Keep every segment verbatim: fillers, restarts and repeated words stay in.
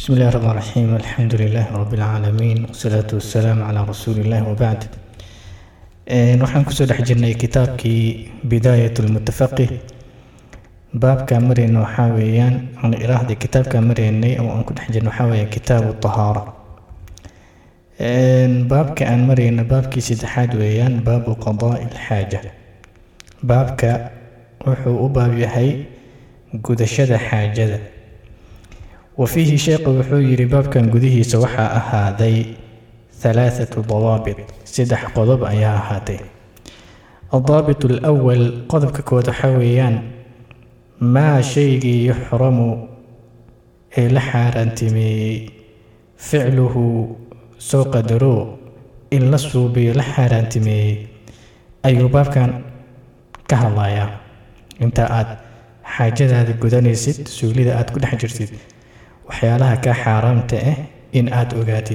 بسم الله الرحمن الرحيم الحمد لله رب العالمين والصلاة والسلام على رسول الله وبعد. waxaan kusoo dhex jirnay kitaabkii bidaayat lmutafaqih. baabka marayna waxaa weeyaan aan iraahday kitaabka maraynay oo aan ku dhex jirno waxaa weeye kitaabu tahaara. baabka aan marayna baabkii saddexaad weeyaan baabu qadaa'i lxaaja. baabka wuxuu u baab yahay gudashada xaajada. وفيه شيخ وحوير باب كان قديه سوحا أهادي ثلاثة ضوابط سدح قضب أيها هاتي. الضابط الأول قضب ككوت حويان ما شيء يحرم لحار انتمي فعله سوق درو إلا الصوبي لحار انتمي أي باب كان كهلايا انت آد حاجة هذه قداني ست سولي ذا آد كل حجر ست waxyaalaha ka xaaraamta ah in aad ogaatid.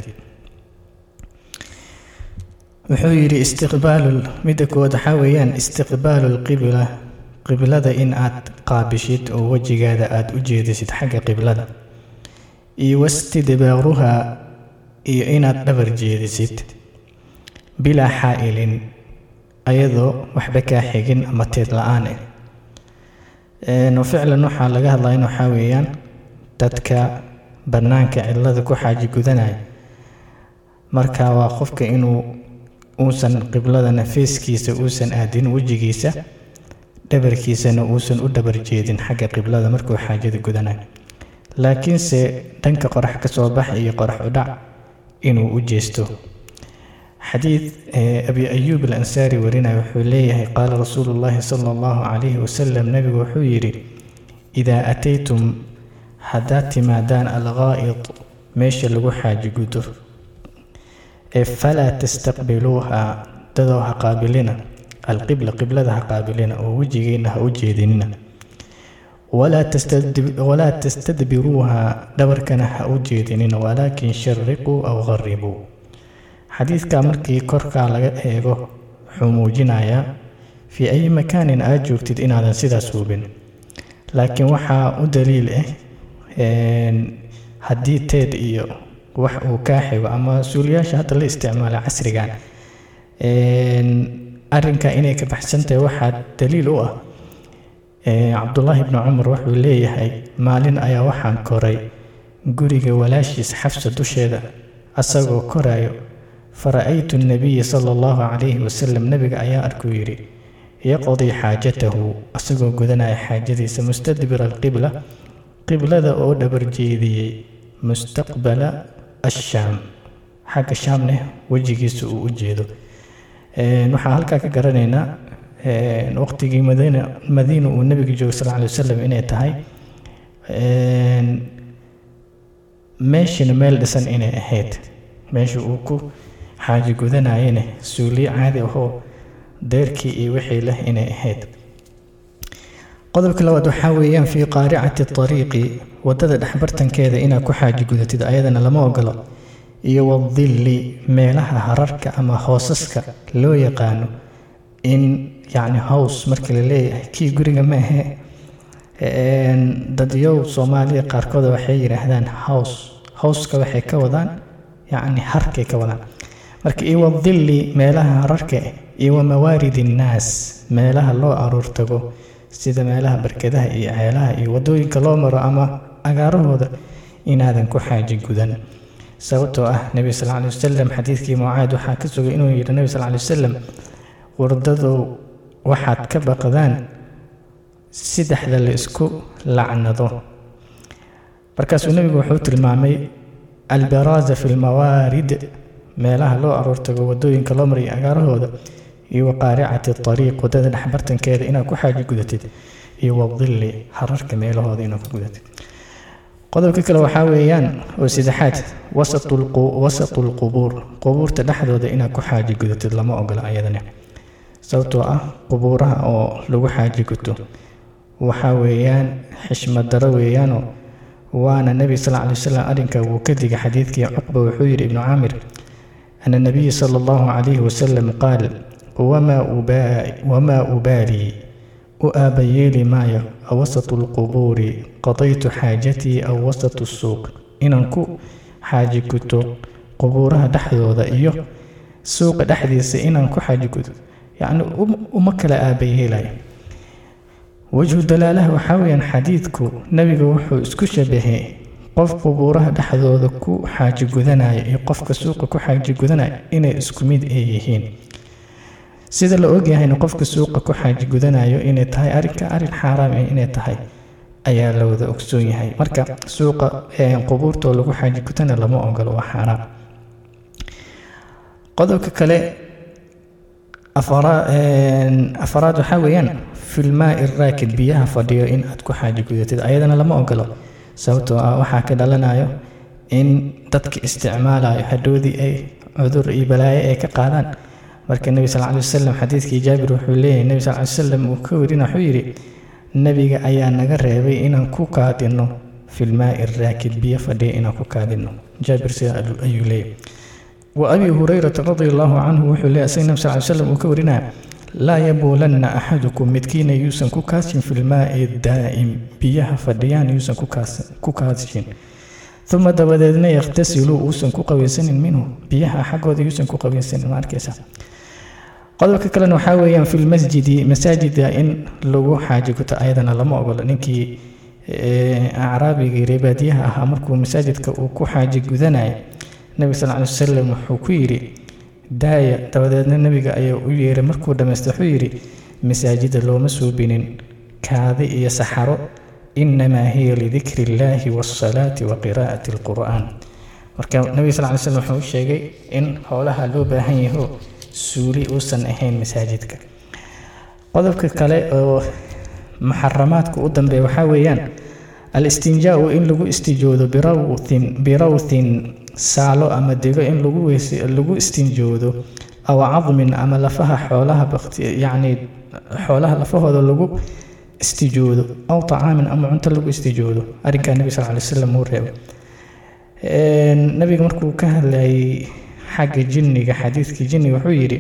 wuxuu yiri istiqbaalul midkood waxa weeyaan istiqbaalul qibla qiblada in aad qaabishid oo wajigaada aad u jeedisid xagga qiblada iyo wastidbaaruha iyo inaad dhabar jeedisid bila xaa'ilin ayadoo waxba ka xigin ama teed la'aan ah. ee ficlan waxa laga hadlayaa waxa weeyaan dadka banaanka cilada ku xaaji gudanaya marka waa qofka inuu uusan qiblada nafiiskiisa uusan aadin wajigiisa dhabarkiisana uusan u dhabar jeedin xagga qiblada markuu xaajada gudanayo, laakiin se dhanka qorax ka soo bax iyo qorax u dhac inuu u jeesto. xadiid abi ayub al-ansari warinayo wuxuu leeyahay qaala rasuulullaahi sala allahu calayhi wasalam nabigu wuxuu yiri idaa ataytum haddaad timaadaan alghaa'id meesha lagu xaaji gudo ee falaa tastaqbiluuha dadoo ha qaabilina alqibla qiblada ha qaabilina oo wejigeena ha u jeedinina walaa tastadbiruuha dhabarkana ha u jeedinina walaakin shariquu aw gharibuu. xadiidka markii korkaa laga eego wuxuu muujinayaa fii ay makaanin aad joogtid inaadan sidaas hubin, laakiin waxaa u daliil ah haddii teed iyo wax uu kaa xigo ama suuliyaasha hadda la isticmaala casrigan arrinka inay ka baxsantahay waxaa daliil u ah cabdullaahi ibnu cumar wuxuu leeyahay maalin ayaa waxaan koray guriga walaashiis xafsa dusheeda asagoo korayo fara'aytu nabiya sala allahu calayhi wasalam nabiga ayaa arkuu yidhi yaqdii xaajatahu asagoo gudanaya xaajadiisa mustadbira alqibla qiblada oo dhabar jeediyey mustaqbala ashaam xagga shaamne wejigiisa uu u jeedo. waxaan halkaa ka garanaynaa waqtigii madiina madiina uu nabiga joogay sal alay wasalam inay tahay meeshana meel dhisan inay ahayd, meesha uu ku xaaji gudanayena suuliye caadi ahoo deerkii iyo wixii leh inay ahayd. qodobka labaad waxaa weeyaan fii qaaricati ariiqi wadada dhexbartankeeda inaad ku xaaji gudatid ayadana lama ogolo, iyo wadilli meelaha hararka ama hoosaska loo yaqaano in yacni hows marka la leeyahay kii guriga ma ahe dadyow soomaaliya qaarkooda waxay yidhaahdaan hows howska waxay ka wadaan yacni harkay ka wadaan marka iyo wadilli meelaha hararka iyo wamawaarid innaas meelaha loo aruur tago sida meelaha barkadaha iyo ceelaha iyo wadooyinka loo maro ama agaarahooda inaadan ku xaaji gudan. sababtoo ah nabi sal alay wasalam xadiidkii mucaad waxaa ka sugay inuu yidhi nabi sal alay wasalam wardadow waxaad ka baqdaan saddexda la isku lacnado. markaasuu nabigu wuxuu tilmaamay albaraaza fi lmawaarid meelaha loo aroortago wadooyinka loo marayo agaarahooda iyo waqaaricati ariiq wadada dhexbartankeeda inaad ku xaaji gudatid iyo wadilli hararka meelahooda inaad ku gudatid. qodobka kale waxaa weeyaan oo saddexaad wasatu lqubuur qubuurta dhexdooda inaad ku xaaji gudatid lama ogola ayadana, sababtoo ah qubuuraha oo lagu xaaji guto waxaa weeyaan xishmad daro weeyaanoo waana nebi sal alay wasalam arrinka wuu ka digay. xadiidkii cuqba wuxuu yidhi ibnu caamir ana nabiya sala allahu calayhi wasalam qaal وما أبالي, وما أبالي أبيلي مايا أوسط القبور قضيت حاجتي أو وسط السوق inaan ku xaaji guto qubuuraha dhexdooda iyo suuqa dhexdiisa inaan ku xaaji guto yacni uma kala aabayheelayo. wajhu dalaalaha waxaa weeyaan xadiidku nabiga wuxuu isku shabahay qof qubuuraha dhexdooda ku xaaji gudanaya iyo qofka suuqa ku xaaji gudanaya inay isku mid ay yihiin. sida la ogyahayna qofka suuqa ku xaaji gudanayo inay tahay arrinka arrin xaaraam ah inay tahay ayaa la wada ogsoon yahay. marka suuqa qubuurta lagu xaaji gudana lama ogolo, waa xaaraam. qodobka kale afaraad waxaa weeyaan filmaa'i raakid, biyaha fadhiyo in aad ku xaaji gudatid ayadana lama ogolo, sababtoo ah waxaa ka dhalanayo in dadka isticmaalayo hadhoodii ay cudur iyo balaayo ay ka qaadaan. marka nebi sal alay wasalam xadiidkii jaabir wuxuu leeyahay nebi sal alay wasalam uu ka warina wuxuu yidhi nebiga ayaa naga reebay inaan ku kaadino filmaa'i raakid, biyo fadhiya inaan ku kaadino. jaabir sidaa ayuu leeyahay. wa abi hurayrata radia allahu canhu wuxuu leeyahay asag nebi sal alay wasalam uu ka warinaya laa yabuulanna axadukum midkiina yuusan ku kaashin filmaa'i daa'im, biyaha fadhiyaan yuusan ku kaashin. uma dabadeedna yakhtasilu uusan ku qabaysanin minhu, biyaha xaggooda yuusan ku qabaysanin. ma arkaysa. qodobka kalena waxaa weeyaan fi lmasjidi, masaajida in lagu xaaji guto ayadana lama ogolo. ninkii acraabiga reebaadiyaha ahaa markuu masaajidka uu ku xaaji gudanaya nabi sal alay wasalam wuxuu ku yidhi daaya. dabadeedna nabiga ayaa u yeeray, markuu dhammaysta wuxuu yidhi masaajida looma suubinin kaadi iyo saxaro, inamaa hiya lidikri illaahi waasalaati wa qiraa'ati alqur'aan. marka nabiga sal alay wasalam wuxuu u sheegay in howlaha loo baahan yaho suuli uusan ahayn masaajidka. qodobka kale oo muxaramaadka u dambeeya waxaa weeyaan alistinjaau in lagu istijoodo birawthin birawthin saalo ama dego in lagu lagu istinjoodo, aw cadmin ama lafaha xoolaha yacni xoolaha lafahooda lagu istijoodo, aw طacaamin ama cunto lagu istijoodo. arrinkaa nebi sal alay wasalam uu reebay. nabiga markuu ka hadlayay xagga jinniga, xadiidkii jinniga wuxuu yidhi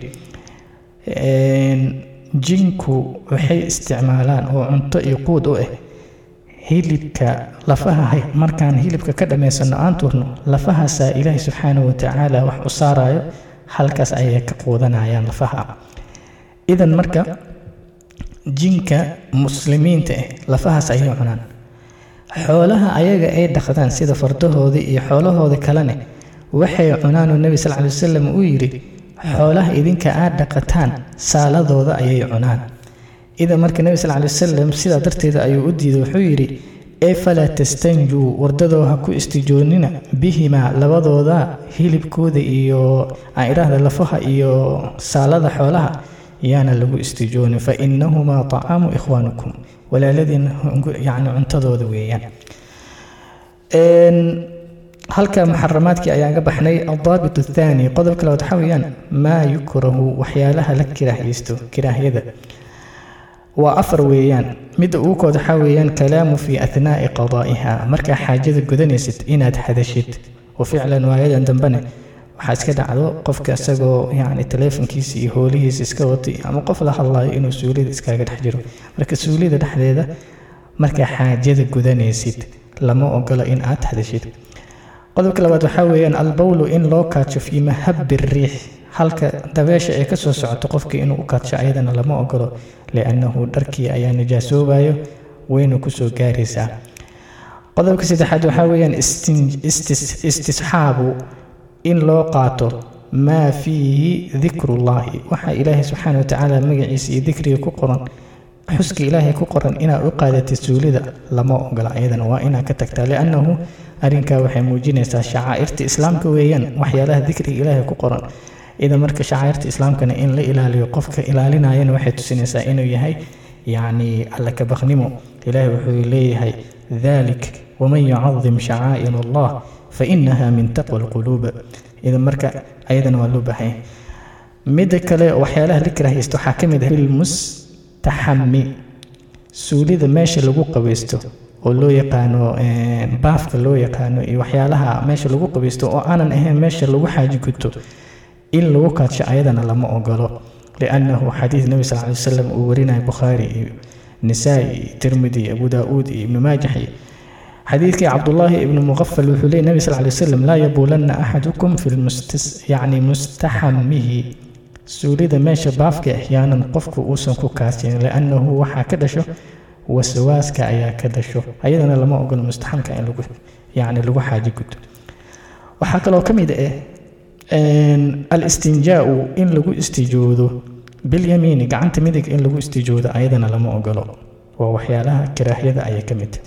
jinku waxay isticmaalaan oo cunto iyo quud u ah hilibka lafaha. markaan hilibka ka dhammaysano aan turno lafahaasaa ilaahay subxaanahu watacaala wax u saarayo, halkaas ayay ka quudanayaan lafaha. idan marka jinka muslimiinta ah lafahaas ayay cunaan. xoolaha ayaga ay dhaqdaan sida fardahoodii iyo xoolahooda kalene waxay cunaan oo nebi sal alay wasalam uu yidhi xoolaha idinka aad dhaqataan saaladooda ayay cunaan. idan marka nebi sal alay wasalam sidaa darteeda ayuu u diiday, wuxuu yidhi ee falaa tastanjuu, wardadoo ha ku istijoonina bihimaa labadooda hilibkooda iyo aan idhaahda lafaha iyo saalada xoolaha yaana lagu istijoonin, fa inahumaa طacaamu ikhwaanikum, walaaladiin yacni cuntadooda weeyaan. halka muxaramaadkii ayaan ka baxnay. aldaabit athaani, qodobka labaad waxaa weeyaan maa yukrahu, waxyaalaha la kiraahiyeysto. kiraahyada waa afar weeyaan. midda ugu kood waxaa weeyaan kalaamu fii athnaa'i qadaa'iha, markaa xaajada gudanaysid inaad hadashid. oo ficlan waayadan dambene waxaa iska dhacdo qofka isagoo yacni taleefonkiisa iyo hoolihiisa iska watay ama qof la hadlayo inuu suulida iskaaga dhex jiro. marka suulida dhexdeeda markaa xaajada gudanaysid lama ogolo in aad hadashid. qodobka labaad waxaa weeyaan albawlu, in loo kaajo fii mahabbi riix, halka dabeesha ay ka soo socoto qofkii inuu u kaadsho ayadana lama ogolo, liannahu dharkii ayaa nijaasoobayo wayna kusoo gaaraysaa. qodobka saddexaad waxaa weeyaan istisxaabu, in loo qaato maa fiihi dikrullaahi, waxaa ilaahay subxaana watacaala magaciisa iyo dikriga ku qoran, xuska ilaahay ku qoran inaad u qaadatid suulida lama ogola. ayadana waa inaad ka tagtaa, liannahu arrinkaa waxay muujinaysaa shacaa'irta islaamka weeyaan, waxyaalaha dikriga ilaahay ku qoran. idan marka shacaa'irta islaamkana in la ilaaliyo, qofka ilaalinayana waxay tusinaysaa inuu yahay yacni alla ka baqnimo. ilaahay wuxuu leeyahay dalik waman yucadim shacaa'ir allah fainaha min taqwa alquluub. idan marka ayadana waa loo baahan yahay. midda kale waxyaalaha la kiraahaysto waxaa ka mid ah bilmustaxami, suulida meesha lagu qabaysto oo loo yaqaano baafka loo yaqaano iyo waxyaalaha meesha lagu qabaysto oo aanan ahayn meesha lagu xaaji guto in lagu kaadsho ayadana lama ogolo, liannahu xadiid nebi sal alay wasalam uu warinayo bukhaari iyo nisaa'i iyo tirmidi iyo abu daa'uud iyo ibnu maajah حديث عبد الله بن مغفل وحلي النبي صلى الله عليه وسلم لا يبولن أحدكم في المستس يعني مستحمه سوليد ماشي بافك أحيانا قفك أوسنك كاسين لأنه وحا كدشو وسواسك أيا كدشو أيضا لما أقول مستحم كأن لغو يعني لغو حاجة قد وحاك لو كم يدئ أن الاستنجاء إن لغو استجوده باليمين قعنت مدك إن لغو استجوده أيضا لما أقول ووحيالها كراهية أيا كمد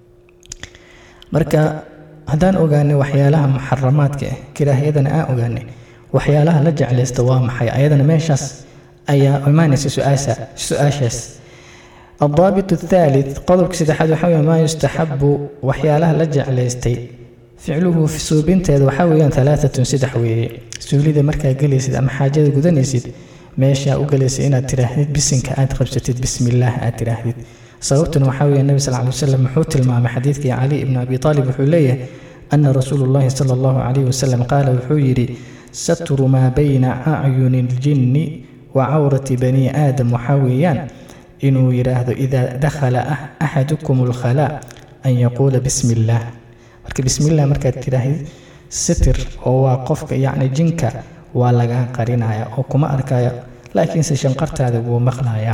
marka hadaan ogaanay waxyaalaha muharramaadka ah kiraahiyadana aan ogaanay waxyaalaha la jeclaysto waa maxay ayadana meeshaas ayaa imaanaysa su'aasha su'aashaas الضابط الثالث قضبك سدحد وحوي ما يستحب وحيالها la jeclaystay فعله في suubinteeda waxa weeyaan ثلاثة سدح weeye suulida markaa galaysid ama xaajada gudanaysid meesha u galaysid inaad tiraahdid bisinka aad qabsatid bismillaah aad tiraahdid sababtuna waxa weeye nabi sallallahu alayhi wasallam wuxuu tilmaamay xadiidkii Ali ibn Abi Talib wuxuu leeyahay anna rasuulullaahi sallallahu alayhi wasallam qaala wuxuu yiri satru ma bayna a'yuni al-jinni wa 'awrati bani aadam waxa weeyaan inuu yiraahdo idha dakhala ahadukum al-khala an yaqula bismillah marka bismillah marka tiraahid sitr oo waa qofka yaani jinka waa laga qarinaya oo kuma arkaya laakiin se shanqartaada wuu maqlaaya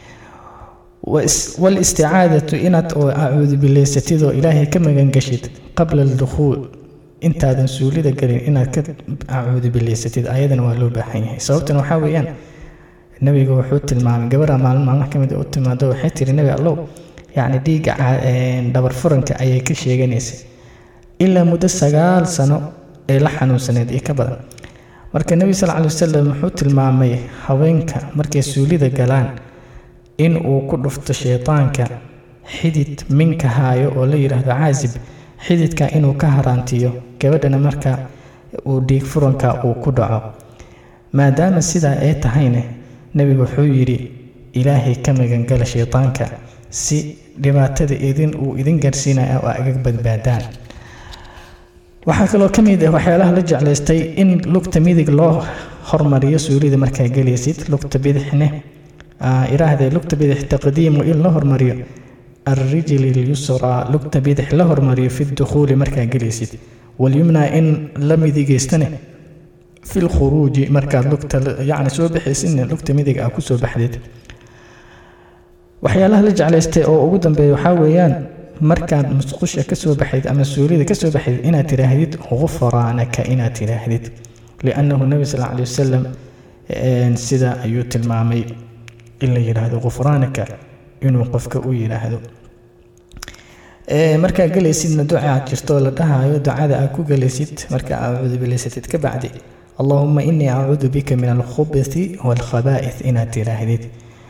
والاستعاذة إنت أعوذ بالله ستيدو إلهي كما جنجشت قبل الدخول إنت هذا سولي ده قرين إنت أعوذ بالله ستيد أيضا ولو بحيه صوتنا وحاويان النبي يقول حوت المعلم قبرها مع المحكمة قلت ما دو حتى النبي الله يعني دي دبر فرنك أي كل شيء جنيس إلا مدة سجال سنة لحن وسنة إيه كبر مركز النبي صلى الله عليه وسلم حوت المعمي حوينك مركز سولي ده قلان in uu ku dhufto shaytaanka xidid minka haayo oo la yiraahdo caazib xididka inuu ka haraantiyo gabadhana marka uu dhiig furanka uu ku dhaco maadaama sida ay tahayna nabigu wuxuu yiri ilaahay ka magan gala shaytaanka si dhibaatada idin uu idin gaarsiinayo oo aga badbaadaan waxa kaloo kamid ah waxyaalaha la jeclaystay in lugta midig loo hormariyo suulida marka galaysid lugta bidixna إراهده لقت بيدح تقديم إلا هرمريو الرجل اليسرى لقت بيدح لهرمريو في الدخول مركا جليسيد واليمنى إن لم يديجستنه في الخروج مركا لقت يعني سو بحيث إن لقت ميديج أكو سو بحديد وحيالها لج على است أو وجودا بيحاوليان مركا مسقوشة كسو بحديد أما السوري كسو بحديد إنا تراهديد غفرانك إنا تراهديد لأنه النبي صلى الله عليه وسلم سيدا أيوت المامي إلا يراهدو غفرانك إنو قفك أو يراهدو إيه مركا قليسيد دعاء جرتو لدهايو دعاء أكو قليسيد مركا أعوذ بالله ستتك بعدي اللهم إني أعوذ بك من الخبث والخبائث إنا تراهديد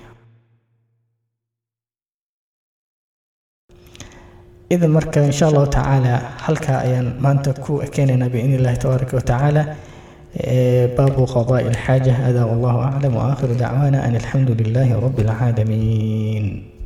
إذا مركا إن شاء الله تعالى حلقة أيان ما أنت كو أكيننا بإذن الله تبارك وتعالى باب قضاء الحاجة هذا والله أعلم وآخر دعوانا أن الحمد لله رب العالمين.